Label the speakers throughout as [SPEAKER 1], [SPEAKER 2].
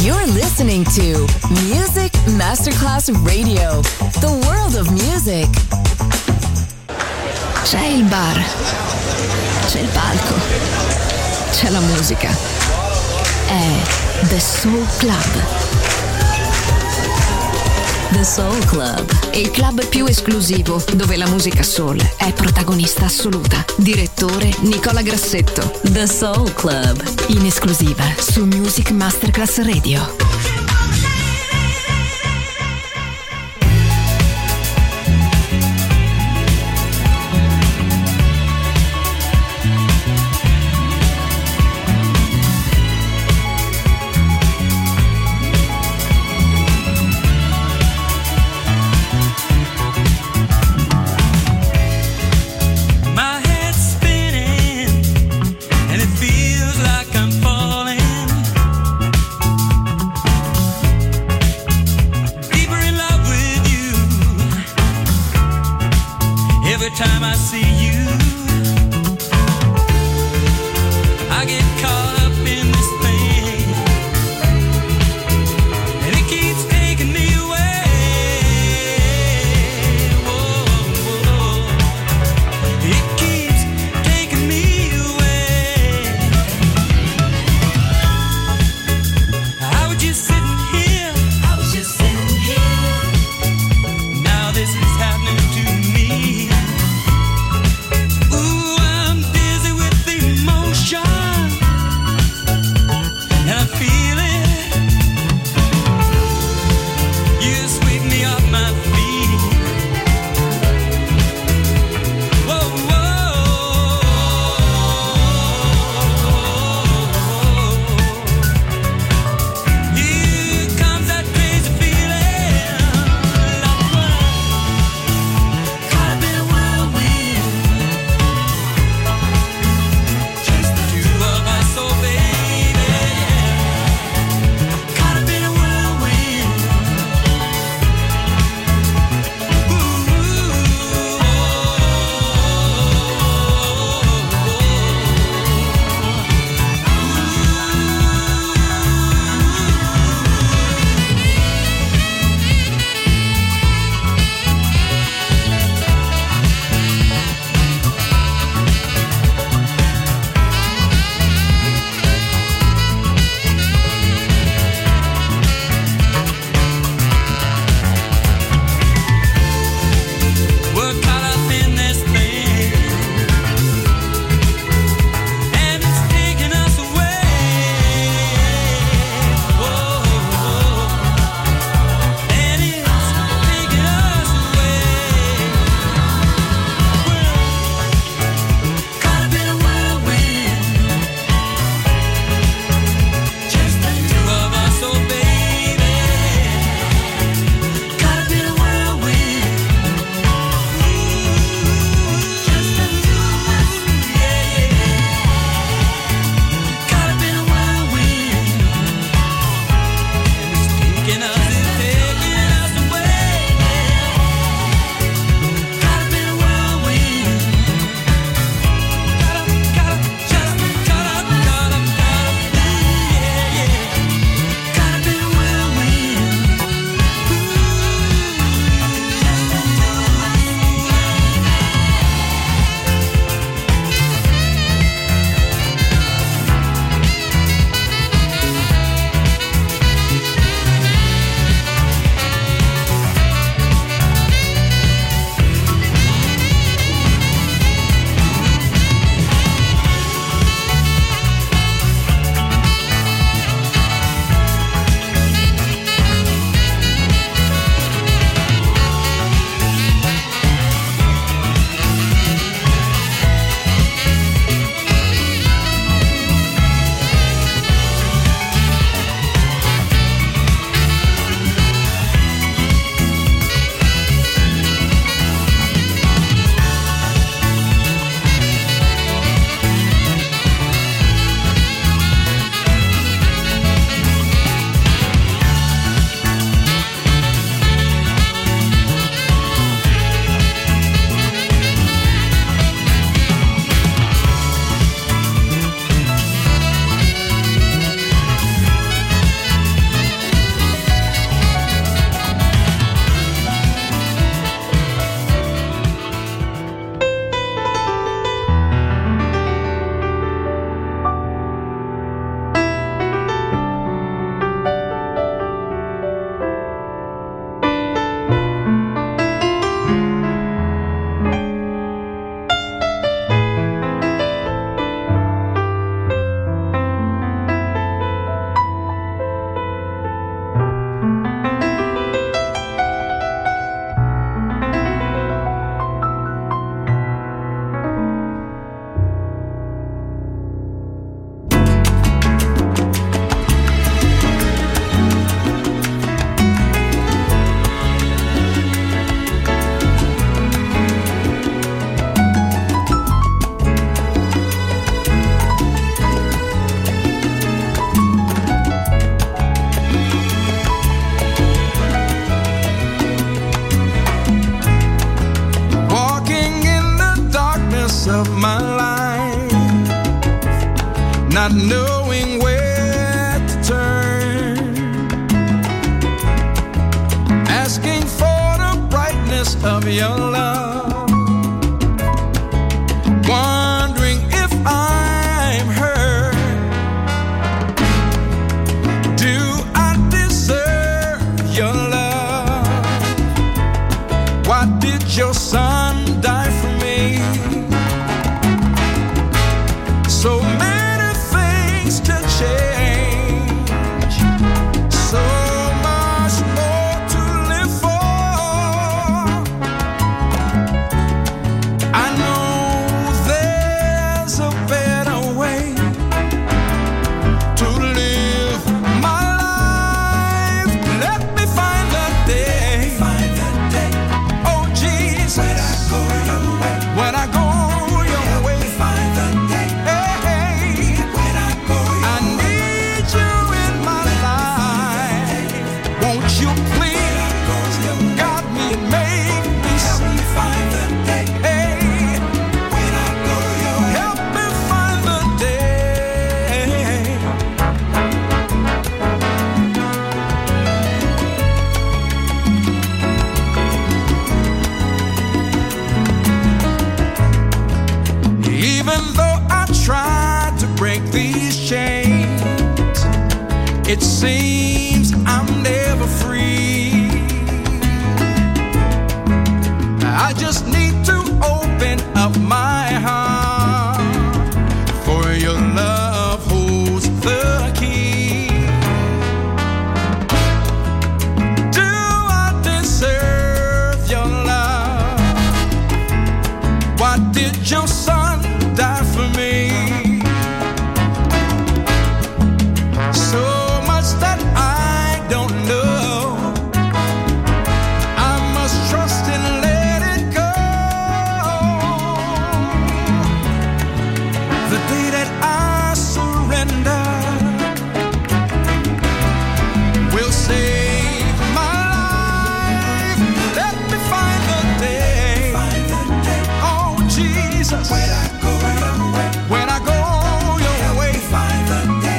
[SPEAKER 1] You're listening to Music Masterclass Radio, the world of music.
[SPEAKER 2] C'è il bar, c'è il palco, c'è la musica. È The Soul Club.
[SPEAKER 1] The Soul Club,
[SPEAKER 2] Il club più esclusivo dove la musica soul è protagonista assoluta. Direttore Nicola Grassetto.
[SPEAKER 1] The Soul Club,
[SPEAKER 2] In esclusiva su Music Masterclass Radio.
[SPEAKER 3] Feels like I'm falling. knowing where to turn, asking for the brightness of your love, wondering if I'm hurt. Do I deserve your love? Why did your son die for me? So many things to change, so much more to live for. I know there's a better way to live my life. Let me find the day, oh Jesus, when I go your way. It seems I'm never free. I just need to open up my heart, for your love holds the key. Do I deserve your love? Why did your son die for me? That I don't know, I must trust and let it go. The day that I surrender will save my life. Let me find the day, oh Jesus, when I go your way, when I go your way, find the day.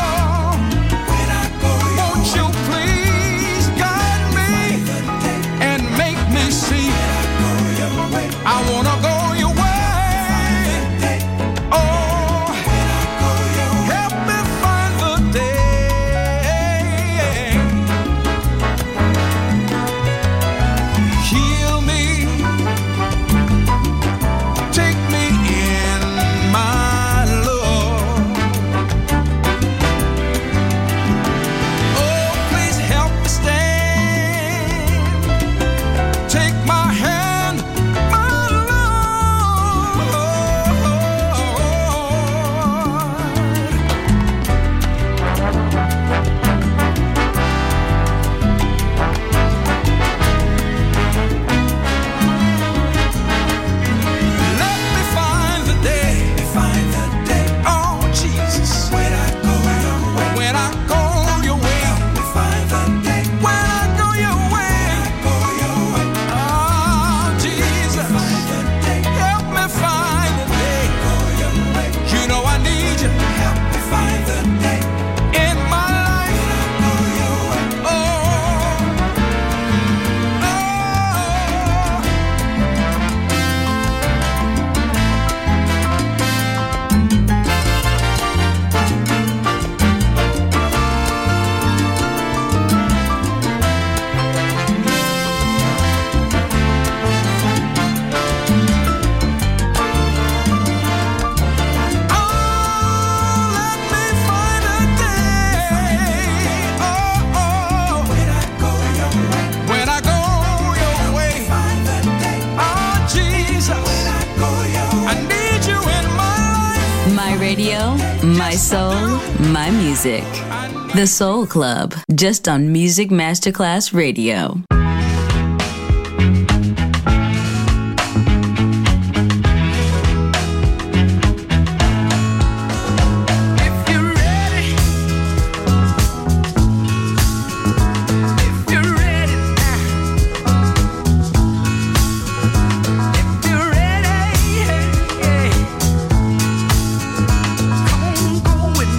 [SPEAKER 3] I wanna go your way. Oh, help me find the day. Heal me, take me in, my Lord. Oh, please help me stand. Take my hand.
[SPEAKER 2] My soul, my music. The Soul Club, just on Music Masterclass Radio.
[SPEAKER 4] With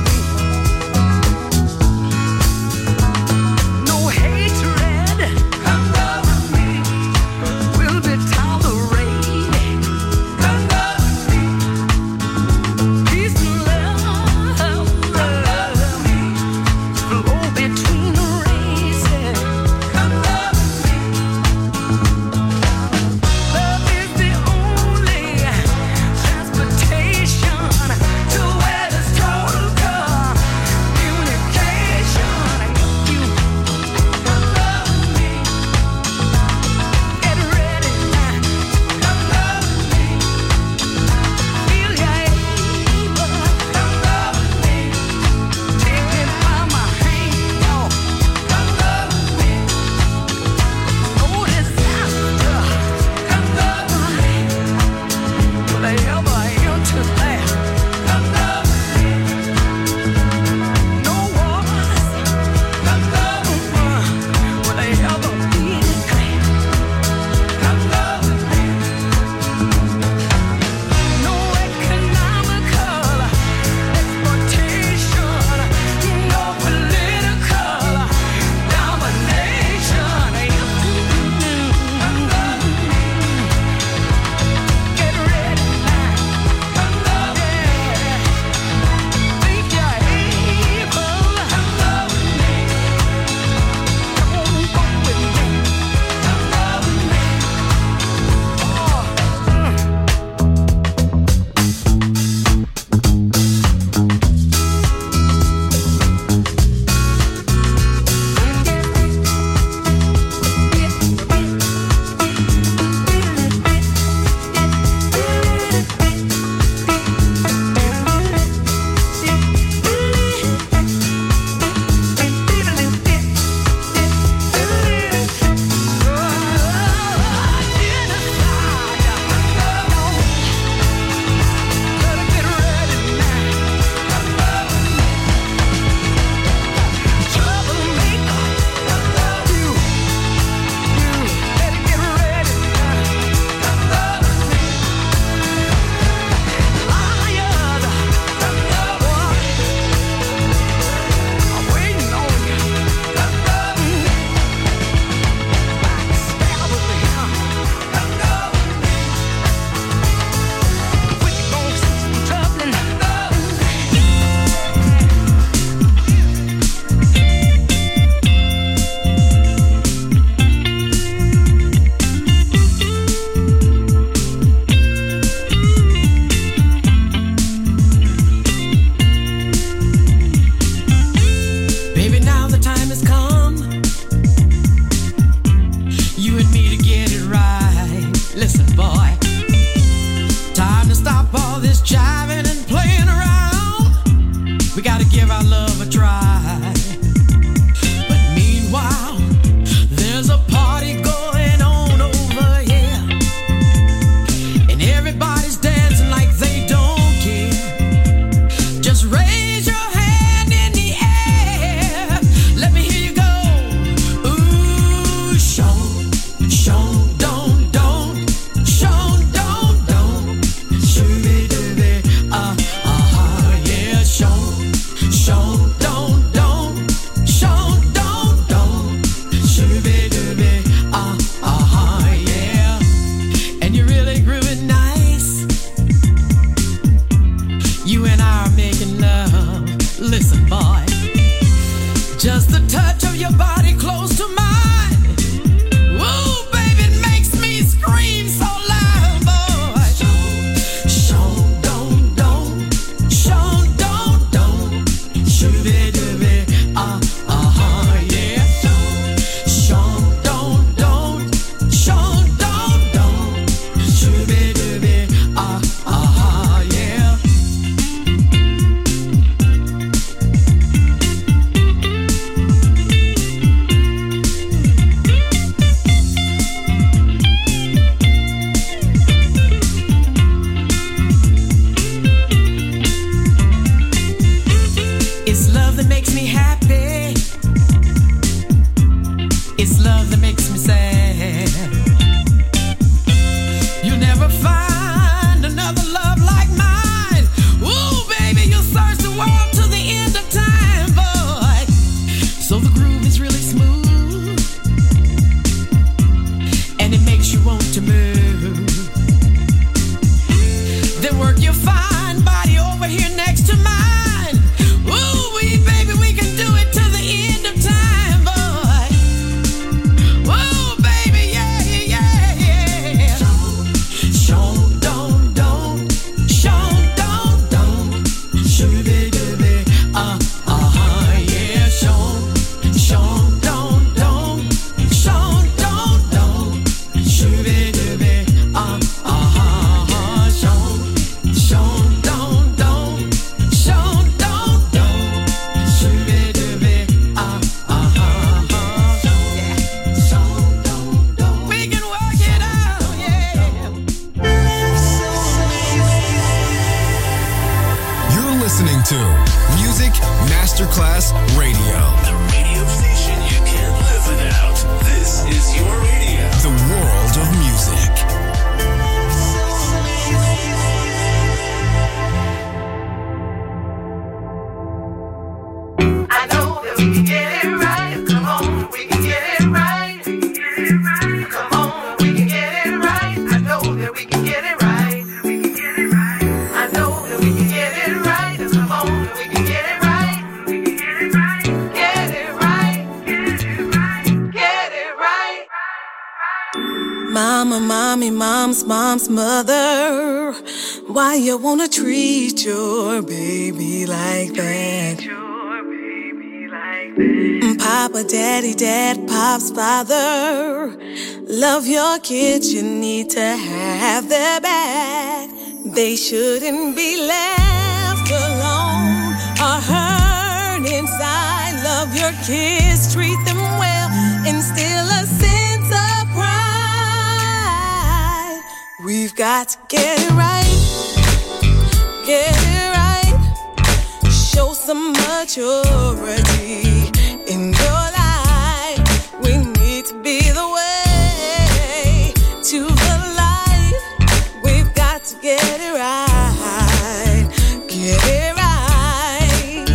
[SPEAKER 4] Radio.
[SPEAKER 5] The radio station you can't live without. This is your radio.
[SPEAKER 4] The world of music.
[SPEAKER 6] I know that we can get it right. Come on, we can get it right. Come on, we can get it right. I know that we can get it right. I know that we can get it right. Come on, we can get it right. Get it right. Get it right.
[SPEAKER 7] Mama, mommy, mom's mother. Why you wanna treat your baby like that? Papa, daddy, dad, pop's father. Love your kids, you need to have their back. They shouldn't be left alone or hurt inside. Love your kids, treat them well, instill a sense of pride. We've got to get it right, get it right. Show some maturity in your life. We need to be the way to the light. We've got to get it right, get it right,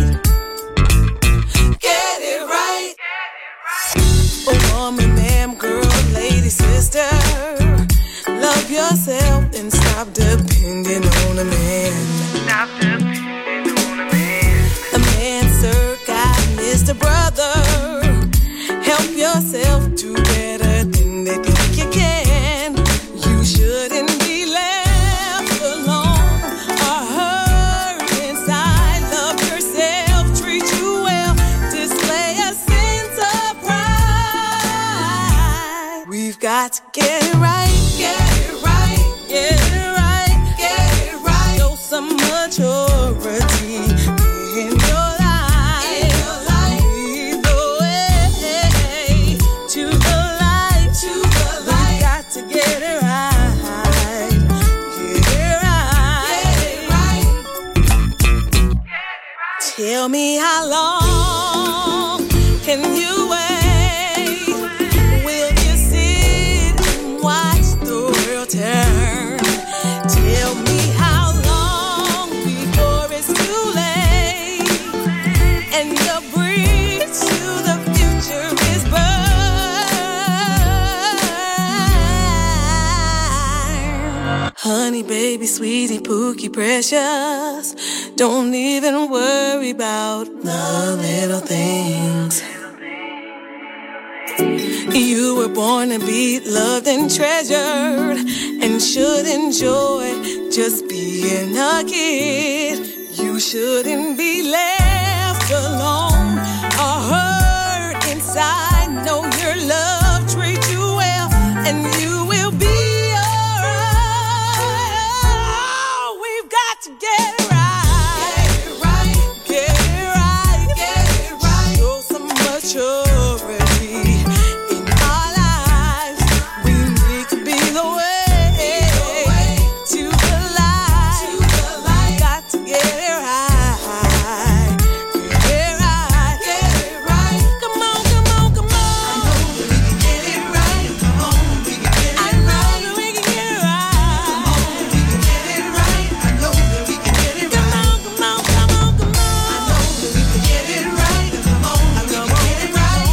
[SPEAKER 7] get it right. Oh, woman, ma'am, girl, lady, sister, love yourself and stop depending on a man.
[SPEAKER 6] Stop depending on a man.
[SPEAKER 7] A man, sir, God, Mr. Brother, help yourself do better than they think you can. You shouldn't be left alone or hurt inside. Love yourself, treat you well, display a sense of pride. We've got to get it right, get it right, get it right, get it right. Show some maturity in your life. Lead the way to the light, to the light. We got to get it right, get it right. Tell me how long can you wait? Will you sit and watch the world turn? Tell me how long before it's too late and your bridge to the future is burned. Honey, baby, sweetie, pookie, precious. Don't even worry about the little things. You were born to be loved and treasured and should enjoy just being a kid. You shouldn't be left alone or hurt inside. Know your love, treat you well, and you will be alright. We've got to get it right, get it right, get it right. Show some maturity in our lives. We need to be the way to the light. We got to get it right, get it right, get it right. Come on, come on, come on. I know that we can get it right. Come on, we can get it right. I know that we can get it right. Come on, we can get it right. I know that we can get it right. Come on, come on, come on, come on. I know that we can get it right. Come on, we can get it right.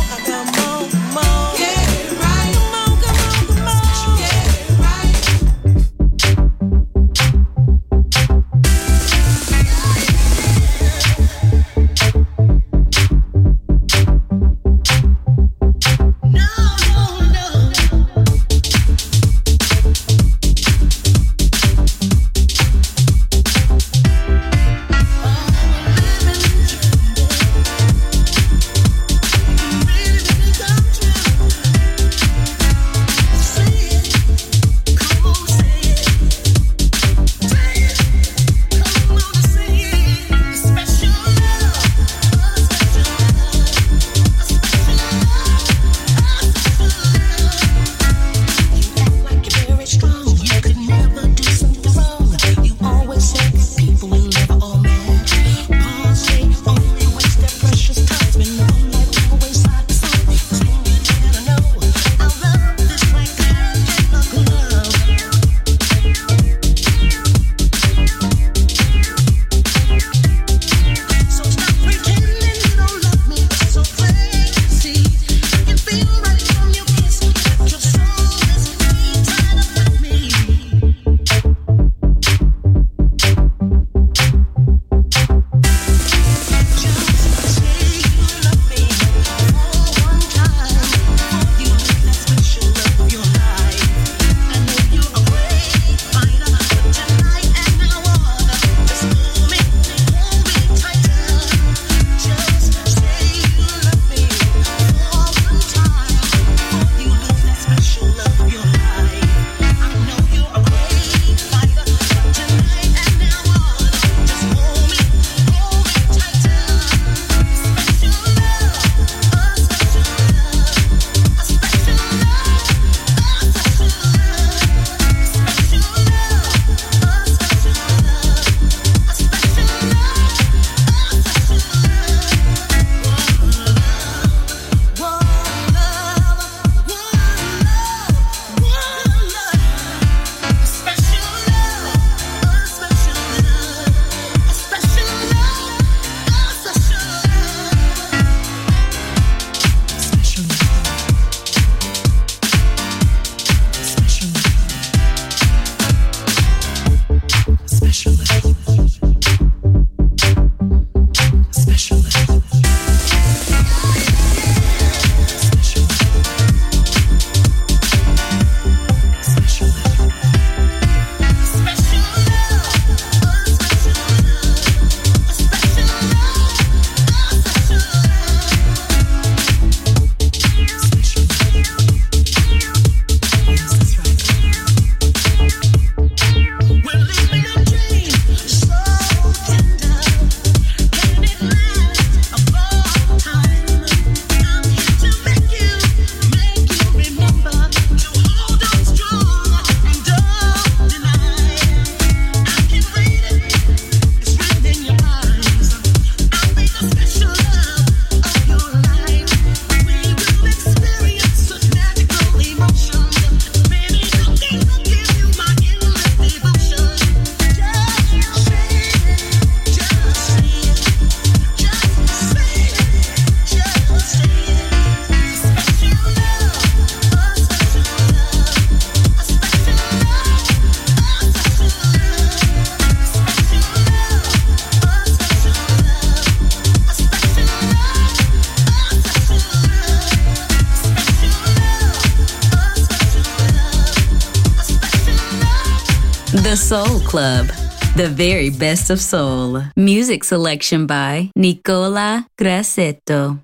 [SPEAKER 8] The Soul Club, the very best of soul. Music selection by Nicola Grassetto.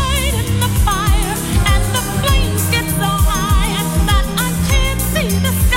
[SPEAKER 9] The sky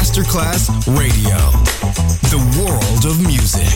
[SPEAKER 4] Masterclass Radio. The world of music.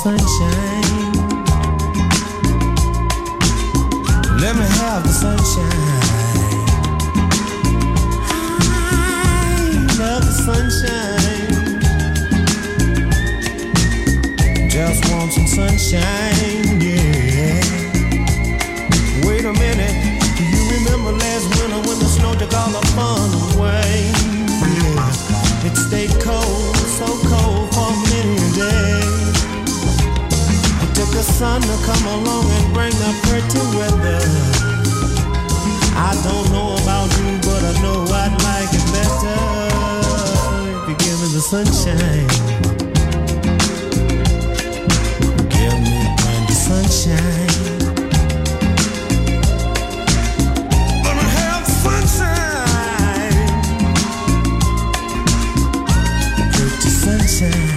[SPEAKER 9] sunshine. Let me have the sunshine. I love the sunshine. Just want some sunshine, yeah. Wait a minute, do you remember last winter when the snow took all the fun away? Yeah. It stayed cold, so cold for many a day. It took the sun to come along and bring the pretty weather. I don't know about you, but I know I'd like it better if you give me the sunshine. Give me plenty sunshine. Let me have sunshine. Pretty sunshine.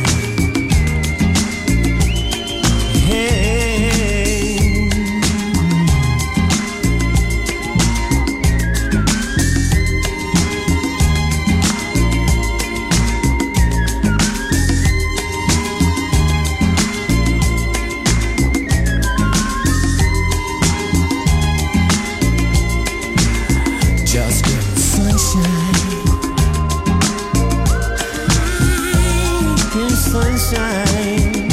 [SPEAKER 9] Sunshine.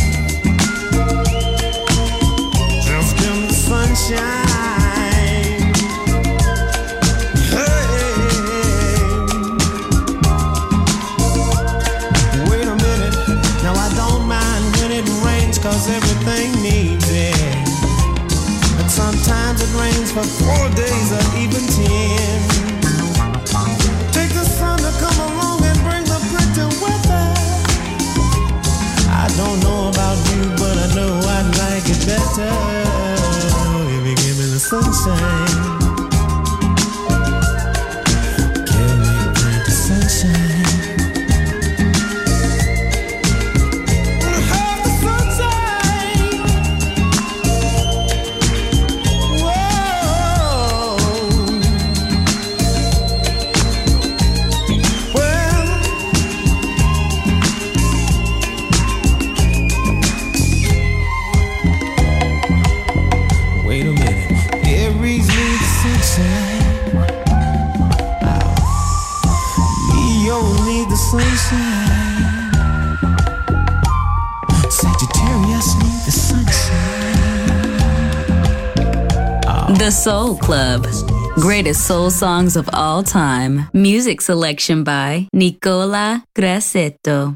[SPEAKER 9] Just give me sunshine. Hey. Wait a minute. Now I don't mind when it rains, 'cause everything needs it. But sometimes it rains for 4 days or even 10. Take the sun to come along and bring the pretty weather. I don't know about you, but I know I'd like it better if you give me the sunshine. Give me plenty sunshine. Have the sunshine. Whoa. Well, wait a minute, Aries need the sunshine. Leo need the sunshine. Sagittarius need the sunshine.
[SPEAKER 8] The Soul Club. Greatest soul songs of all time. Music selection by Nicola Grassetto.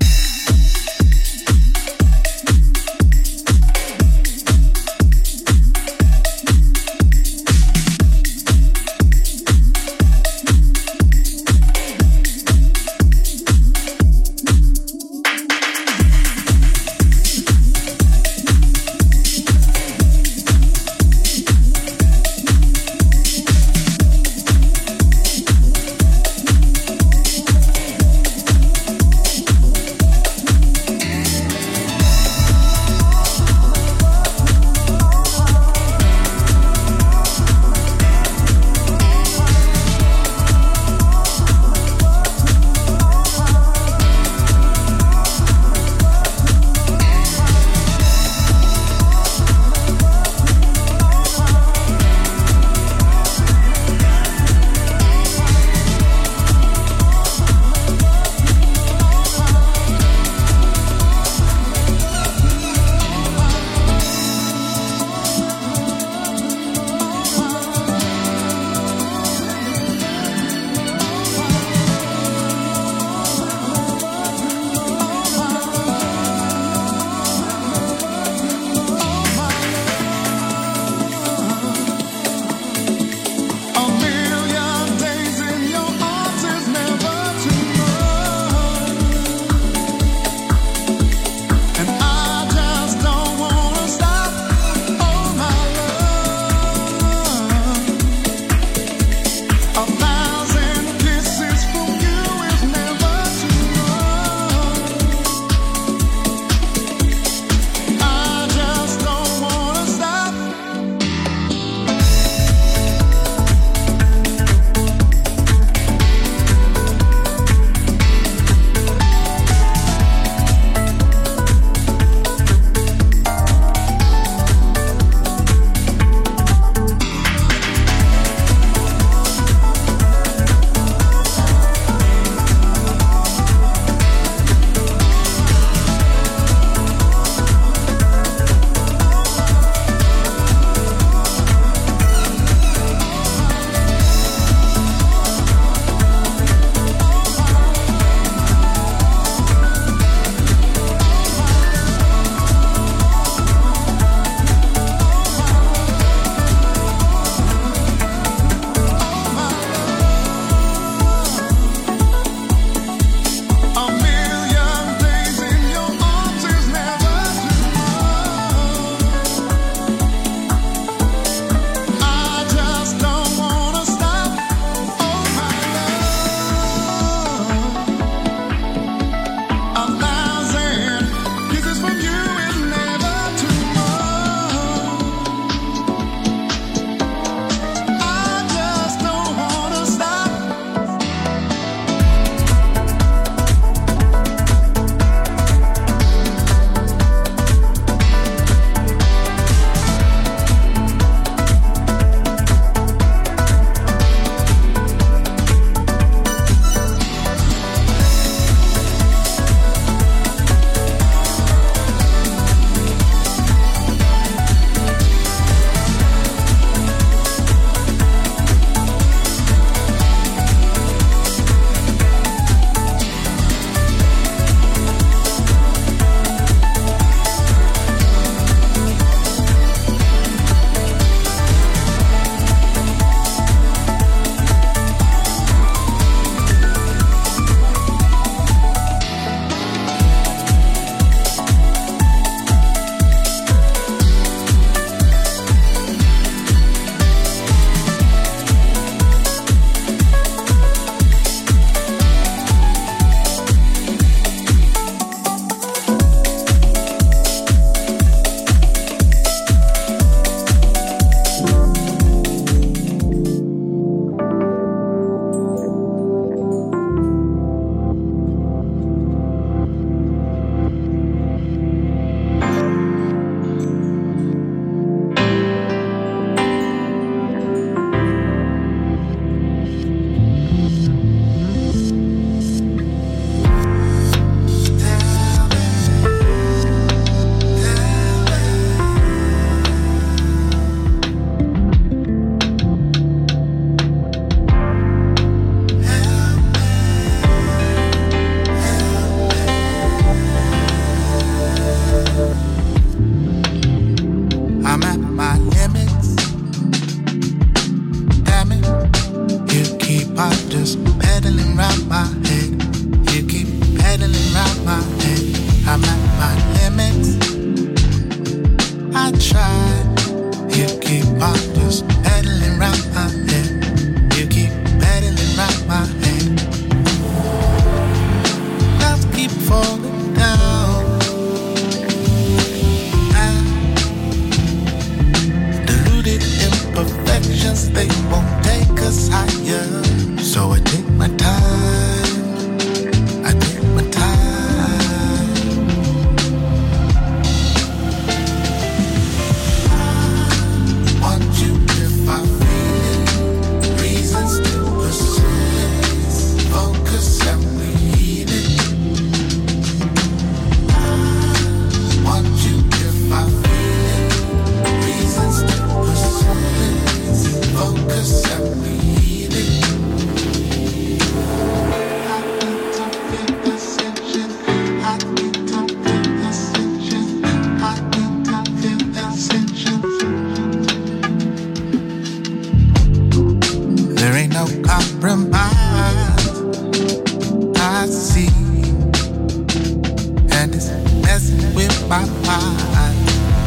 [SPEAKER 10] on just pedaling round my head. You keep pedaling round my head. I'm at my limits. I tried. You keep on just pedaling round my head. You keep pedaling round my head. Clouds keep falling down. Deluded imperfections, they won't take us higher. So I take my time. I take my time. I want you if I feel it. Reasons to persist. Focus and read it. I want you if I feel it. Reasons to persist. Focus and read it. There ain't no compromise, I see, and it's messing with my mind.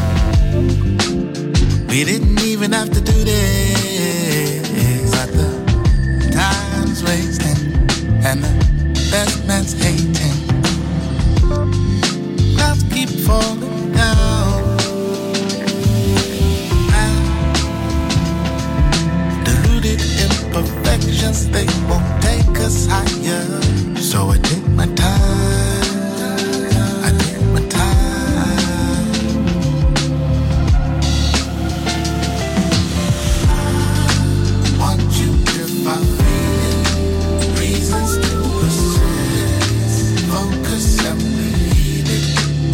[SPEAKER 10] We didn't even have to do this, but the time's wasting and the best man's hating. Clouds keep falling down. Deluded imperfections, they won't take us higher. So I take my time. I take my time. I want you if I feel it. Reasons to persist. Focus and read it.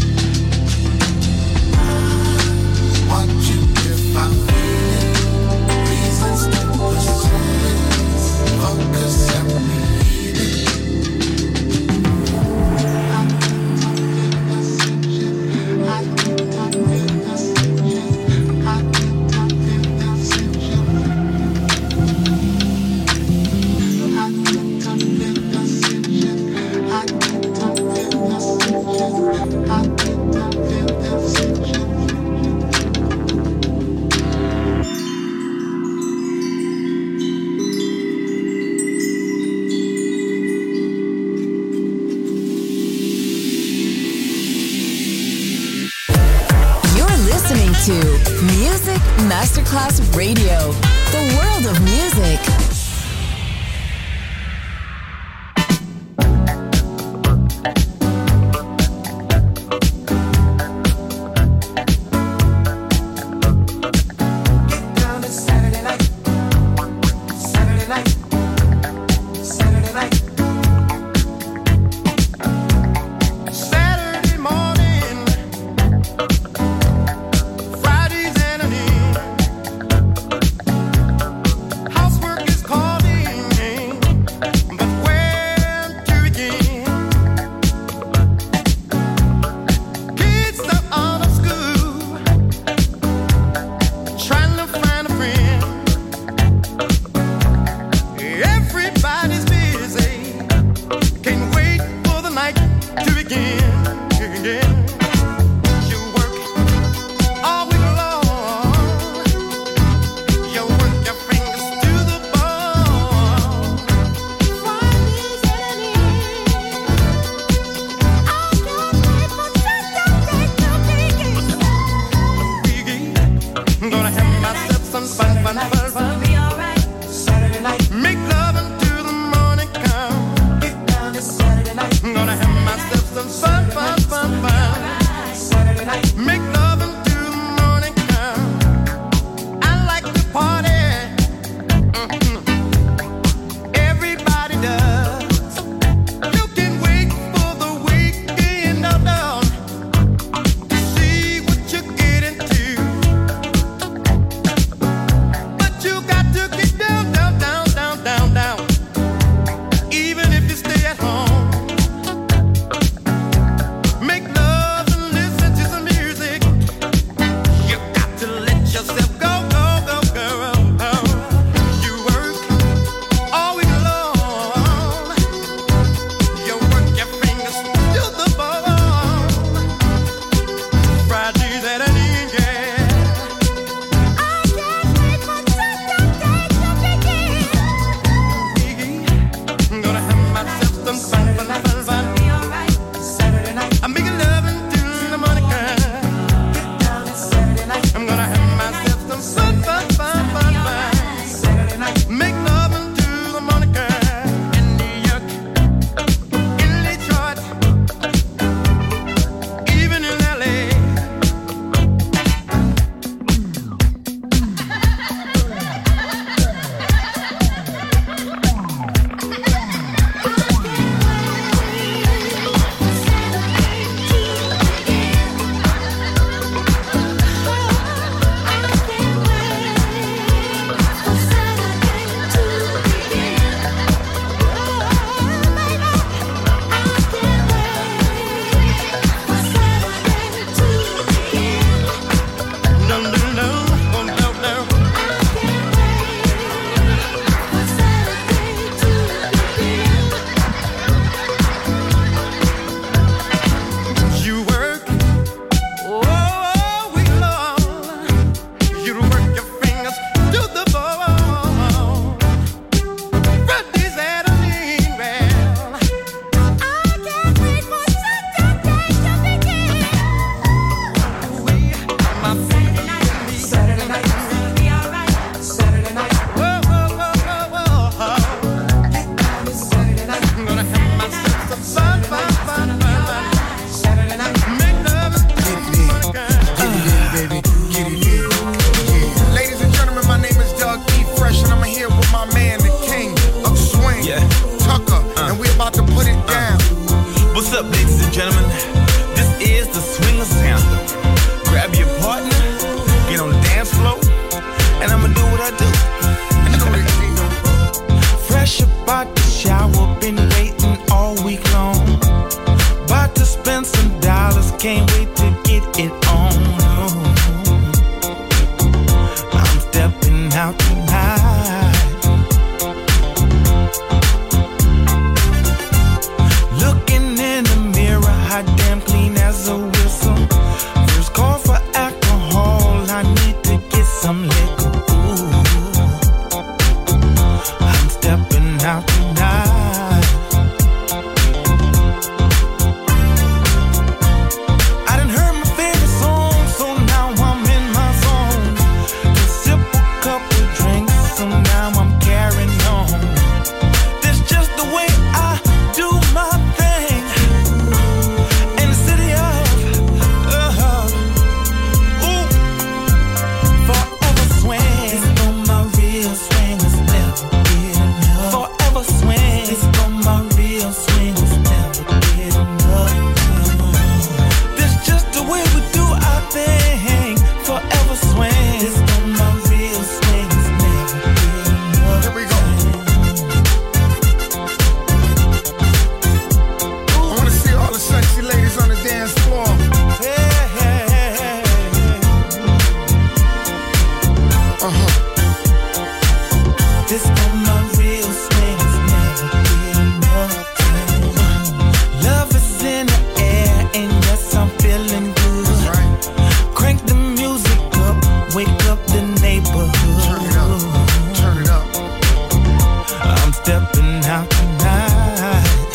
[SPEAKER 10] I want you if I feel it. Reasons to persist. Focus and read it.
[SPEAKER 1] To Music Masterclass Radio, the world of music.
[SPEAKER 10] Fridays and an Housework stepping out tonight.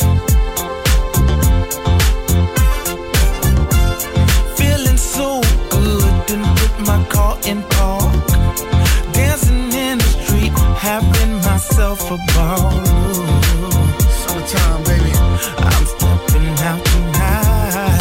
[SPEAKER 10] Feeling so good, didn't put my car in park. Dancing in the street, having myself a ball. Summertime, baby. I'm stepping out tonight.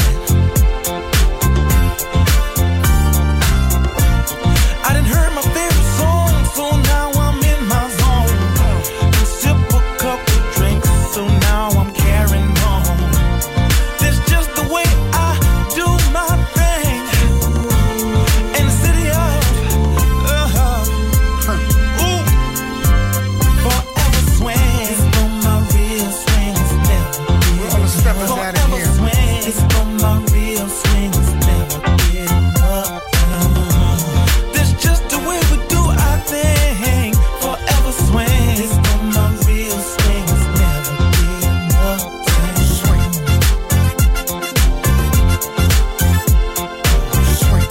[SPEAKER 10] I done heard my favorite song, so now I'm in my zone. And sip a couple drinks, so now I'm carrying on. That's just the way I do my thing. In the city of ooh, forever swing. It's on my real swing, it's never getting up. Forever swing. It's on my real swing, it's never getting up. That's just the way we do our thing. Forever swing. It's on my real swing, it's never getting up. Swing. Swing.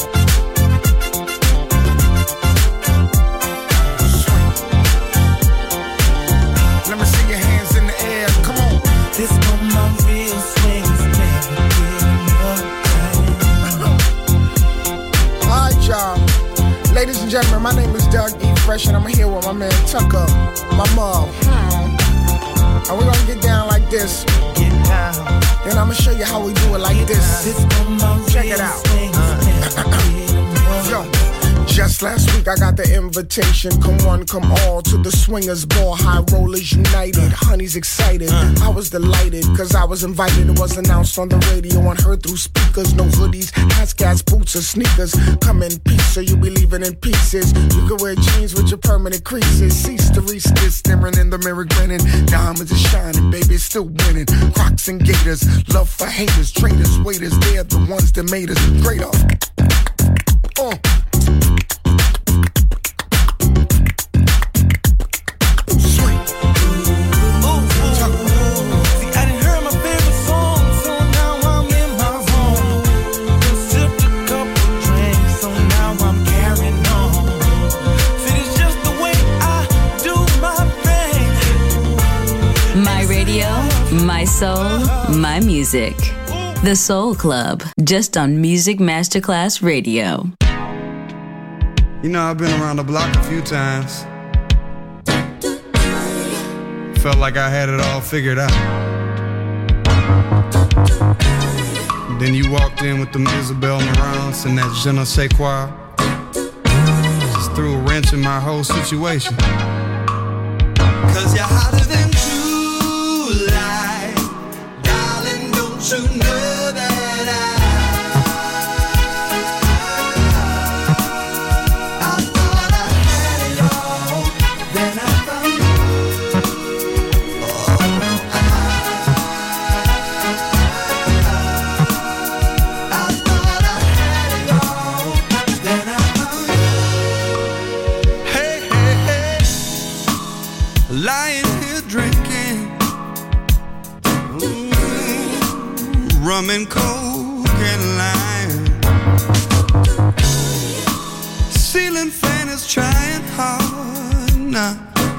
[SPEAKER 10] Let me see your hands in the air. Come on. This on my real swing, it's never getting up.
[SPEAKER 11] All right, y'all. Ladies and gentlemen, my name is Doug E. Fresh, and I'm here with my man Tucker, my mom. And we're gonna get down like this.
[SPEAKER 10] Get down.
[SPEAKER 11] Then I'm gonna show you how we do it like this.
[SPEAKER 10] This on my
[SPEAKER 11] Check
[SPEAKER 10] real
[SPEAKER 11] it out.
[SPEAKER 10] swing, it's never getting up.
[SPEAKER 11] Yo, just last week I got the invitation. Come one, come all to the swingers ball. High rollers united, honey's excited. I was delighted cause I was invited. It was announced on the radio and heard through speakers. No hoodies, hats, gas, boots or sneakers. Come in peace so you'll be leaving in pieces. You can wear jeans with your permanent creases. Cease to reach this, staring in the mirror grinning. Diamonds are shining, baby, it's still winning. Crocs and gators, love for haters. Traitors, waiters, they're the ones that made us greater.
[SPEAKER 8] My radio, my soul, my music. The Soul Club, just on Music Masterclass Radio.
[SPEAKER 12] You know, I've been around the block a few times. Felt like I had it all figured out. Then you walked in with them Isabel Marants and that je ne sais quoi. Just threw a wrench in my whole situation.
[SPEAKER 3] Cause you're hotter than July. Darling, don't you know that I thought I had it all. Then I found you. Oh, I thought I had it all. Then I found you.
[SPEAKER 12] Hey, hey, hey. Lying here drinking rum and coke and lime. Ceiling fan is trying hard now,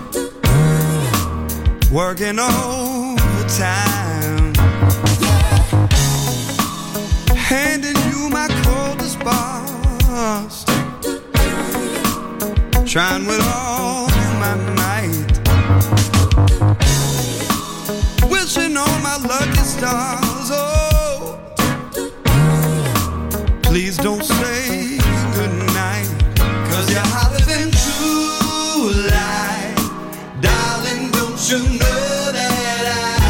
[SPEAKER 12] working overtime, handing you my coldest bars, trying with all my might, wishing on my lucky stars. Oh, please don't say goodnight.
[SPEAKER 3] Cause you're hotter than July. Darling, don't you know that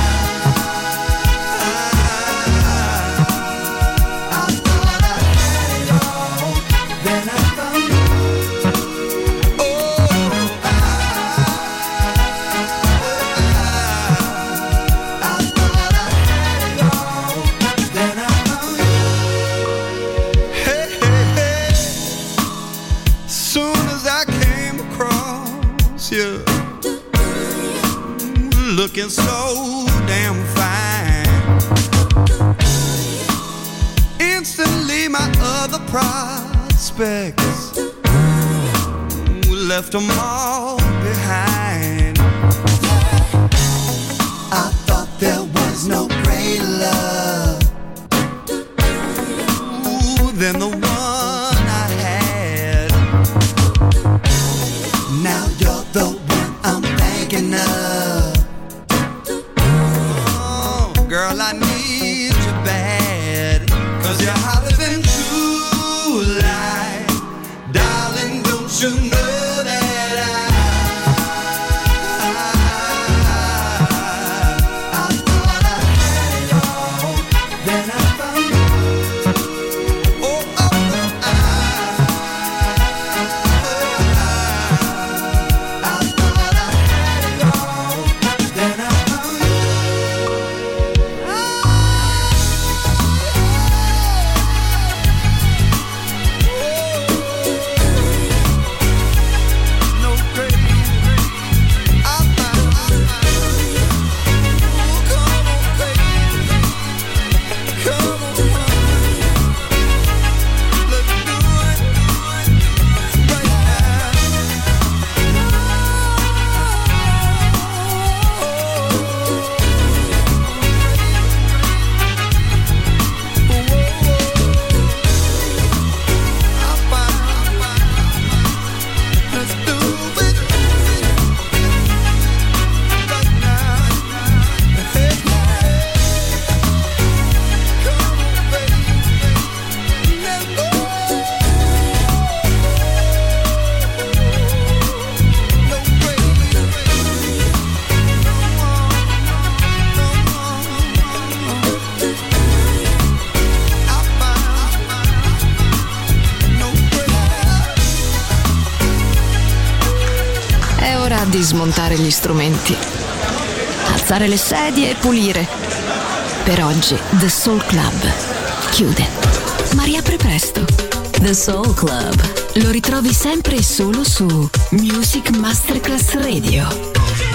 [SPEAKER 3] I thought I had it all. Then I found you. Oh, I thought I had it all. Then I found you.
[SPEAKER 12] hey, hey, hey. Soon as I came across you, looking so damn fine, instantly my other prospects left them all behind.
[SPEAKER 3] enough. Oh, girl, I need you bad, 'cause you're hotter than true light. Darling, don't you know that
[SPEAKER 2] Di smontare gli strumenti, alzare le sedie e pulire. Per oggi The Soul Club chiude, ma riapre presto.
[SPEAKER 8] The Soul Club
[SPEAKER 2] lo ritrovi sempre e solo su Music Masterclass Radio.